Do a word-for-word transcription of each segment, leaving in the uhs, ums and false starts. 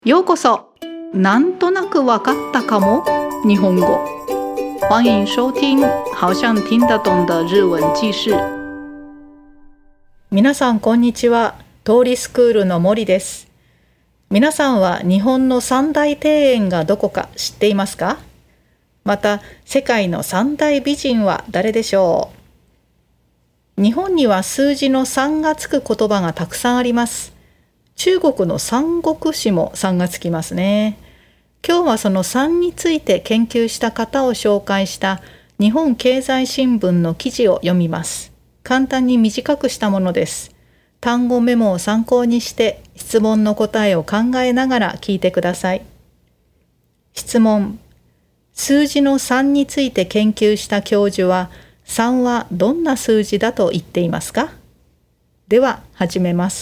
ようこそ。なんとなくわかったかも日本語。欢迎收听好像听得懂的日文記事。 皆さんこんにちは。通りスクールの森です。皆さんは日本の三大庭園がどこか知っていますか？また世界の三大美人は誰でしょう？日本には数字のさんがつく言葉がたくさんあります。中国の三国志もさんがつきますね。今日はそのさんについて研究した方を紹介した日本経済新聞の記事を読みます。簡単に短くしたものです。単語メモを参考にして質問の答えを考えながら聞いてください。質問。数字のさんについて研究した教授はさんはどんな数字だと言っていますか？では始めます。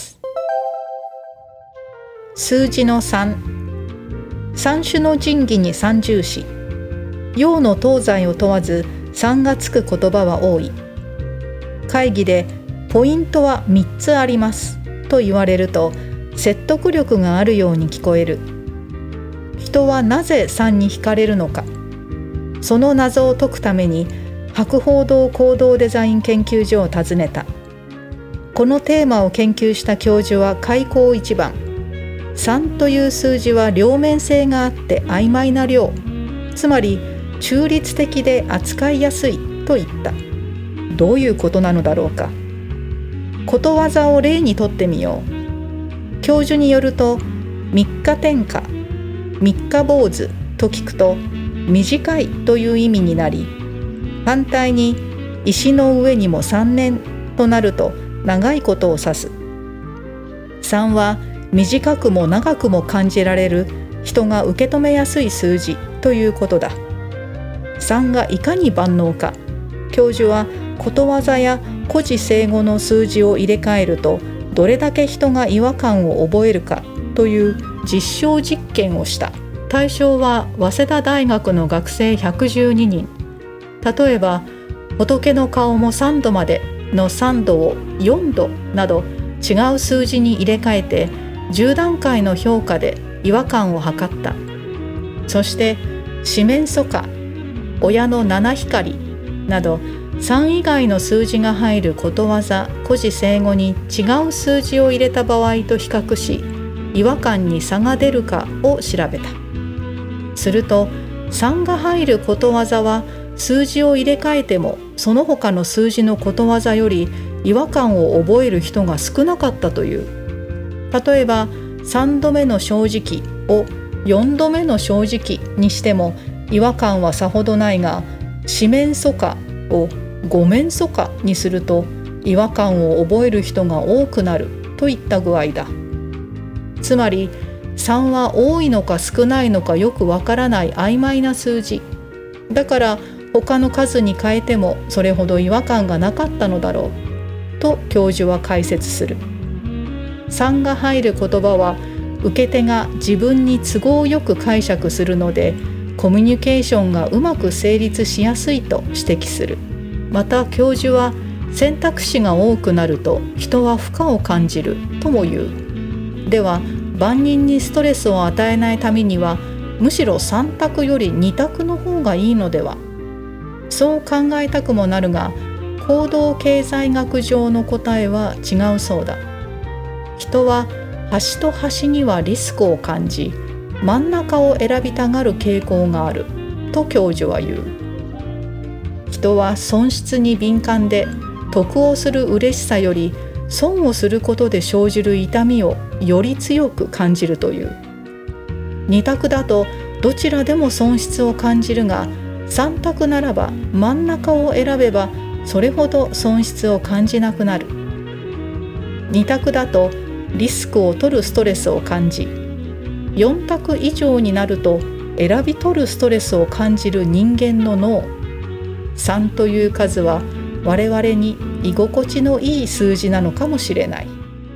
数字のさん。三種の神器に三重視。洋の東西を問わずさんがつく言葉は多い。会議でポイントはみっつありますと言われると説得力があるように聞こえる。人はなぜさんに惹かれるのか。その謎を解くために博報堂行動デザイン研究所を訪ねた。このテーマを研究した教授は開口一番。さんという数字は両面性があって曖昧な量、つまり中立的で扱いやすいと言った。どういうことなのだろうか。ことわざを例にとってみよう。教授によると、三日天下、三日坊主と聞くと短いという意味になり、反対に石の上にも三年となると長いことを指す。さんは短くも長くも感じられる人が受け止めやすい数字ということだ。さんがいかに万能か。教授はことわざや古事成語の数字を入れ替えるとどれだけ人が違和感を覚えるかという実証実験をした。対象は早稲田大学の学生ひゃくじゅうににん。例えば仏の顔もさんどまでのさんどをよんどなど違う数字に入れ替えてじゅうだんかいの評価で違和感を測った。そして四面楚歌、親の七光などさん以外の数字が入ることわざ、古事成語に違う数字を入れた場合と比較し、違和感に差が出るかを調べた。するとさんが入ることわざは数字を入れ替えてもその他の数字のことわざより違和感を覚える人が少なかったという。例えばさんどめの正直をよんどめの正直にしても違和感はさほどないが、四面楚歌を五面楚歌にすると違和感を覚える人が多くなるといった具合だ。つまりさんは多いのか少ないのかよくわからない曖昧な数字だから、他の数に変えてもそれほど違和感がなかったのだろうと教授は解説する。さんが入る言葉は受け手が自分に都合よく解釈するのでコミュニケーションがうまく成立しやすいと指摘する。また教授は選択肢が多くなると人は負荷を感じるとも言う。では万人にストレスを与えないためにはむしろさん択よりに択の方がいいのでは。そう考えたくもなるが行動経済学上の答えは違うそうだ。人は端と端にはリスクを感じ真ん中を選びたがる傾向があると教授は言う。人は損失に敏感で得をする嬉しさより損をすることで生じる痛みをより強く感じるという。に択だとどちらでも損失を感じるがさん択ならば真ん中を選べばそれほど損失を感じなくなる。に択だとリスクを取るストレスを感じ、よん択以上になると選び取るストレスを感じる人間の脳。さんという数は我々に居心地のいい数字なのかもしれない。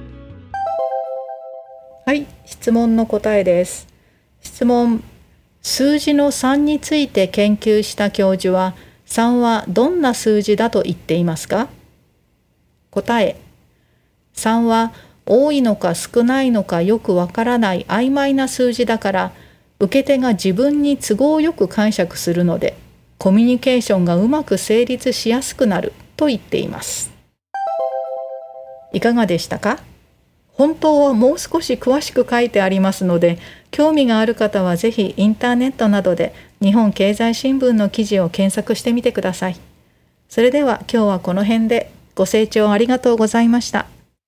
はい、質問の答えです。質問。数字のさんについて研究した教授はさんはどんな数字だと言っていますか？答え。さんは多いのか少ないのかよくわからない曖昧な数字だから、受け手が自分に都合よく解釈するので、コミュニケーションがうまく成立しやすくなると言っています。いかがでしたか？本当はもう少し詳しく書いてありますので、興味がある方はぜひインターネットなどで日本経済新聞の記事を検索してみてください。それでは今日はこの辺で。ご清聴ありがとうございました。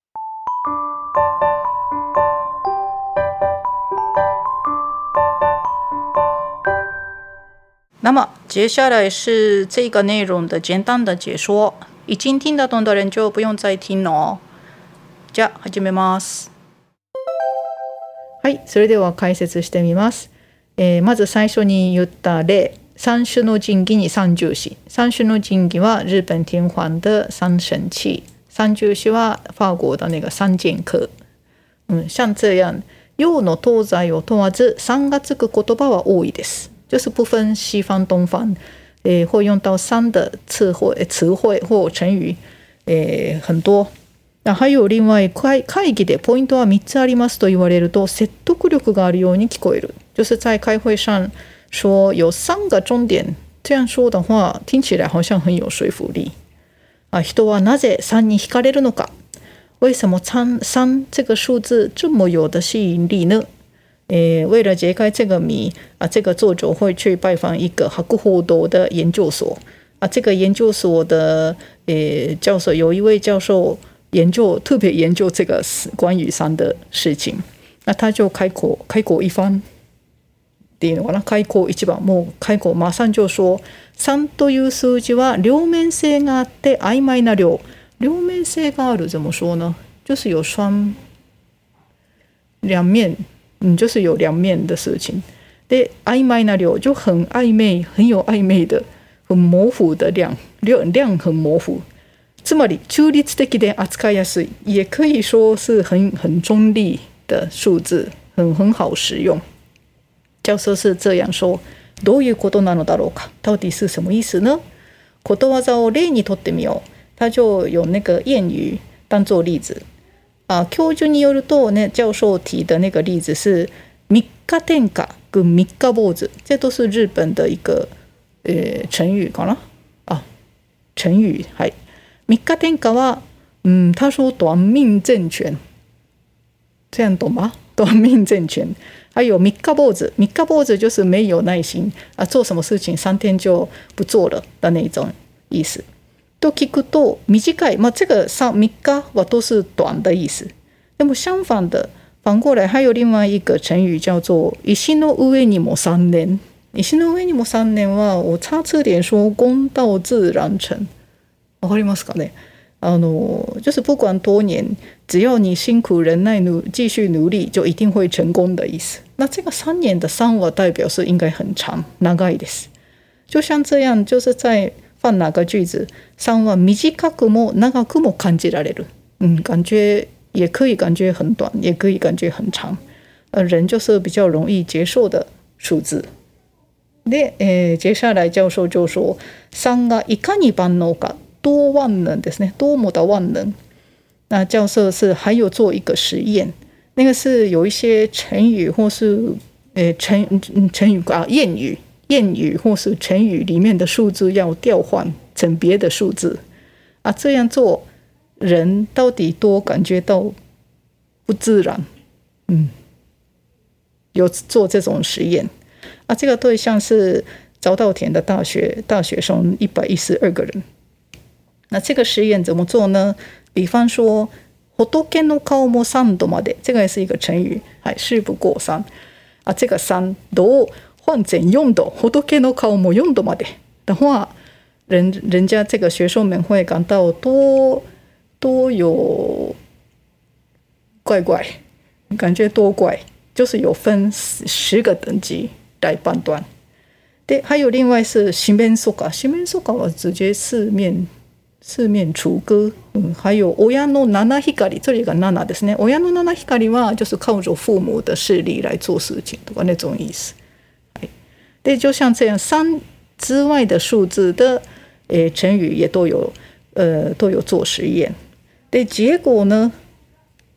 那么接下来是这个内容的简单的解说，已经听得懂的人就不用再听了哦。じゃあ始めます。 はい、それでは解説してみます。えー、まず最初に言った例。三種の神器に三重視。三種の神器は日本天皇的三神器，三重視は法国的那个三剑客。嗯，像这样洋の東西を問わず三がつく言葉は多いです。就是不分西方东方，诶，会用到三的词汇、词汇或成语，诶，很多。那还有另外会会議でポイントは三つありますと言われると説得力があるように聞こえる。就是在开会上说有三个重点，这样说的话听起来好像很有说服力啊。人はなぜ三に惹かれるのか？为什么三三这个数字这么有的吸引力呢？诶，为了解开这个谜啊，这个作者会去拜访一个博報堂的研究所啊。这个研究所的诶教授有一位教授研究特别研究这个关于三的事情，那他就开口开口一番。っていうのかな、開口一番もう開口馬上就说三という数字は両面性があって曖昧な量。両面性がある怎么说呢？就是有双两面，嗯，就是有两面的事情。で曖昧な量就很暧昧，很有暧昧的，很模糊的量，量量很模糊。つまり中立的で扱いやすい，也可以说是很很中立的数字，很很好使用。教授是这样说，どういうことなのだろうか？到底是什么意思呢？ことわざを例にとってみよう。他就有那个谚语当做例子啊。教授によるとね，教授提的那个例子是三日天下跟三日坊主，这都是日本的一个呃成语かな啊。成语，はい。三日天下は，嗯，他说短命政权，这样懂吗？短命政权。还有三日坊主，三日坊主就是没有耐心啊，做什么事情三天就不做了的那种意思。と聞くと短い，まあ这个三三日は都是短的意思。那么相反的，反过来还有另外一个成语叫做石の上にも三年。石の上にも三年は我查字典说功到自然成。わかりますかね？あの就是不管多年，只要你辛苦忍耐努继续努力，就一定会成功的意思。那这个三年的三は代表是应该很长，長いです。就像这样，就是在放哪个句子，三は短くも長くも感じられる。嗯，感觉也可以感觉很短，也可以感觉很长。呃，人就是比较容易接受的数字。で、えー、接下来教授就说，三がいかに万能か。多万能ですね，多么的万能。那教授是还有做一个实验，那个是有一些成语或是呃成成语啊谚语谚语或是成语里面的数字要调换成别的数字啊，这样做人到底多感觉到不自然。嗯，有做这种实验啊，这个对象是早稻田的大学大学生一百一十二个人。那这个实验怎么做呢？比方说仏の顔も三度まで，这个也是一个成语，还事不过三啊。这个三度换成四度，仏の顔も四度まで的话，人人家这个学生们会感到多多有怪怪，感觉多怪，就是有分十个等级来判断。对，还有另外是四面楚歌，四面楚歌は直接四面。四面楚歌、嗯、还有親の七光，这里が七ですね。親の七光は就是靠着父母的势力来做事情とか那种意思。对，就像这样，三之外的数字的诶成语也都有呃都有做实验。对，结果呢，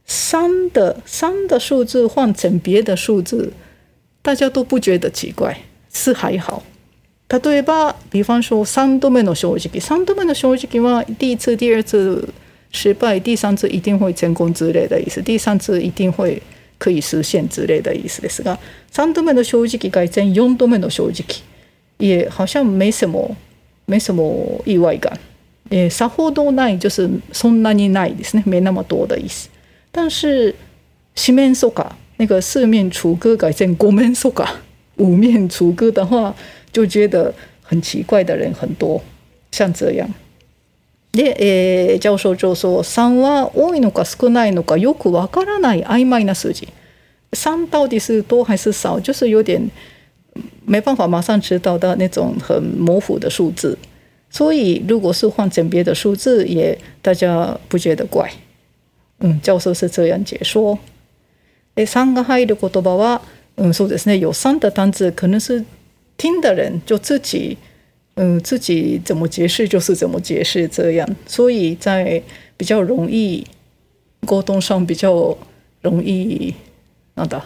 三的三的数字换成别的数字，大家都不觉得奇怪，是还好。例えば比方说三度目の正直，三度目の正直は第一次第二次失败，第三次一定会成功之类的意思，第三次一定会可以实现之类的意思ですが、三度目の正直改成四度目の正直也好像没什么没什么意外感，也さほどない就是そんなにないですね，没那么多的意思。但是四面楚歌那个四面楚歌改成五面楚歌五面楚歌的话，就觉得很奇怪的人很多，像这样。で、えー、教授就说三は多いのか少ないのかよくわからない曖昧な数字。三到底是多还是少，就是有点没办法马上知道的那种很模糊的数字。所以如果是换成别的数字，也大家不觉得怪。嗯，教授是这样解说。で、三が入る言葉は、嗯，そうですね，有三的单字可能是听的人就自己。嗯，自己怎么解释就是怎么解释，这样，所以在比较容易沟通上比较容易，なんだ，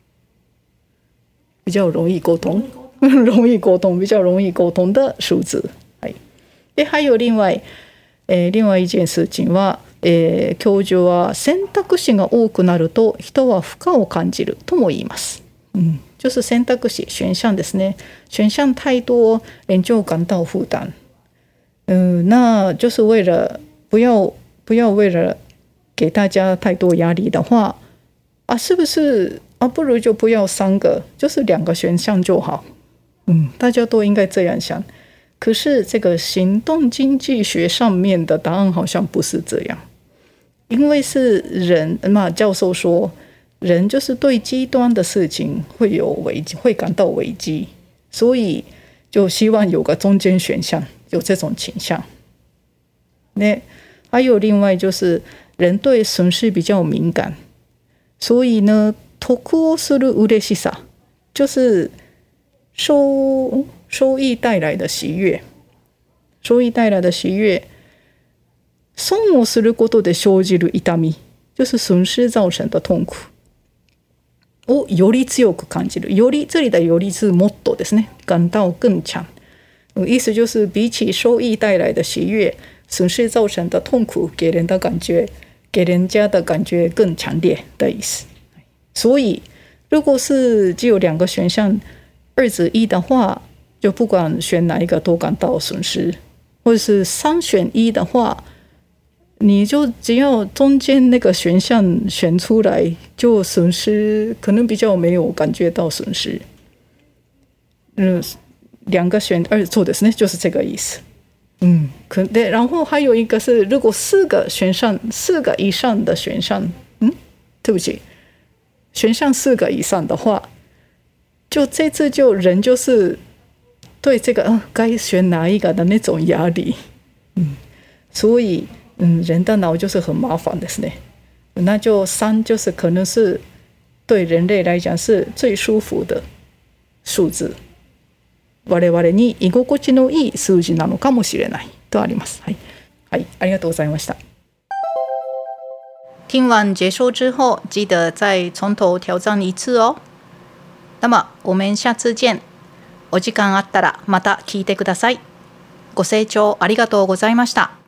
比较容易沟通，容易沟通，比较容易沟通的数字。はい。で、还有另外、えー、另外一件事情は、えー、教授は選択肢が多くなると人は負荷を感じるとも言います。うん。就是選択肢選項ですね，選項太多，人就感到負擔。嗯，那就是为了不要不要为了给大家太多压力的话，啊，是不是啊？不如就不要三个，就是两个选项就好。嗯，大家都应该这样想。可是这个行动经济学上面的答案好像不是这样，因为是人嘛，教授说。人就是对极端的事情会有危机，会感到危机，所以就希望有个中间选项，有这种倾向。那还有另外就是人对损失比较敏感，所以呢，得をする嬉しさ就是收收益带来的喜悦，收益带来的喜悦。損をすることで生じる痛み，就是损失造成的痛苦。をより強く感じる，より这里的より是もっとですね，感到更强。意思就是比起收益带来的喜悦，损失造成的痛苦给人的感觉，给人家的感觉更强烈的意思。所以如果是只有两个选项二择一的话，就不管选哪一个都感到损失，或者是三选一的话，你就只要中间那个选项选出来，就损失可能比较没有感觉到损失。嗯，两个选二做的是呢，就是这个意思。嗯，可对，然后还有一个是，如果四个选项，四个以上的选项，嗯，对不起，选项四个以上的话，就这次就人就是对这个、呃、该选哪一个的那种压力。嗯，所以。嗯，人的脑就是很麻烦ですね。那就三就是可能是对人类来讲是最舒服的数字。我々に居心地のいい数字なのかもしれないとあります。はい、はい、ありがとうございました。 听完解说之后，记得再从头挑战一次哦。那么我们下次见。お時間あったらまた聞いてください。ご清聴ありがとうございました。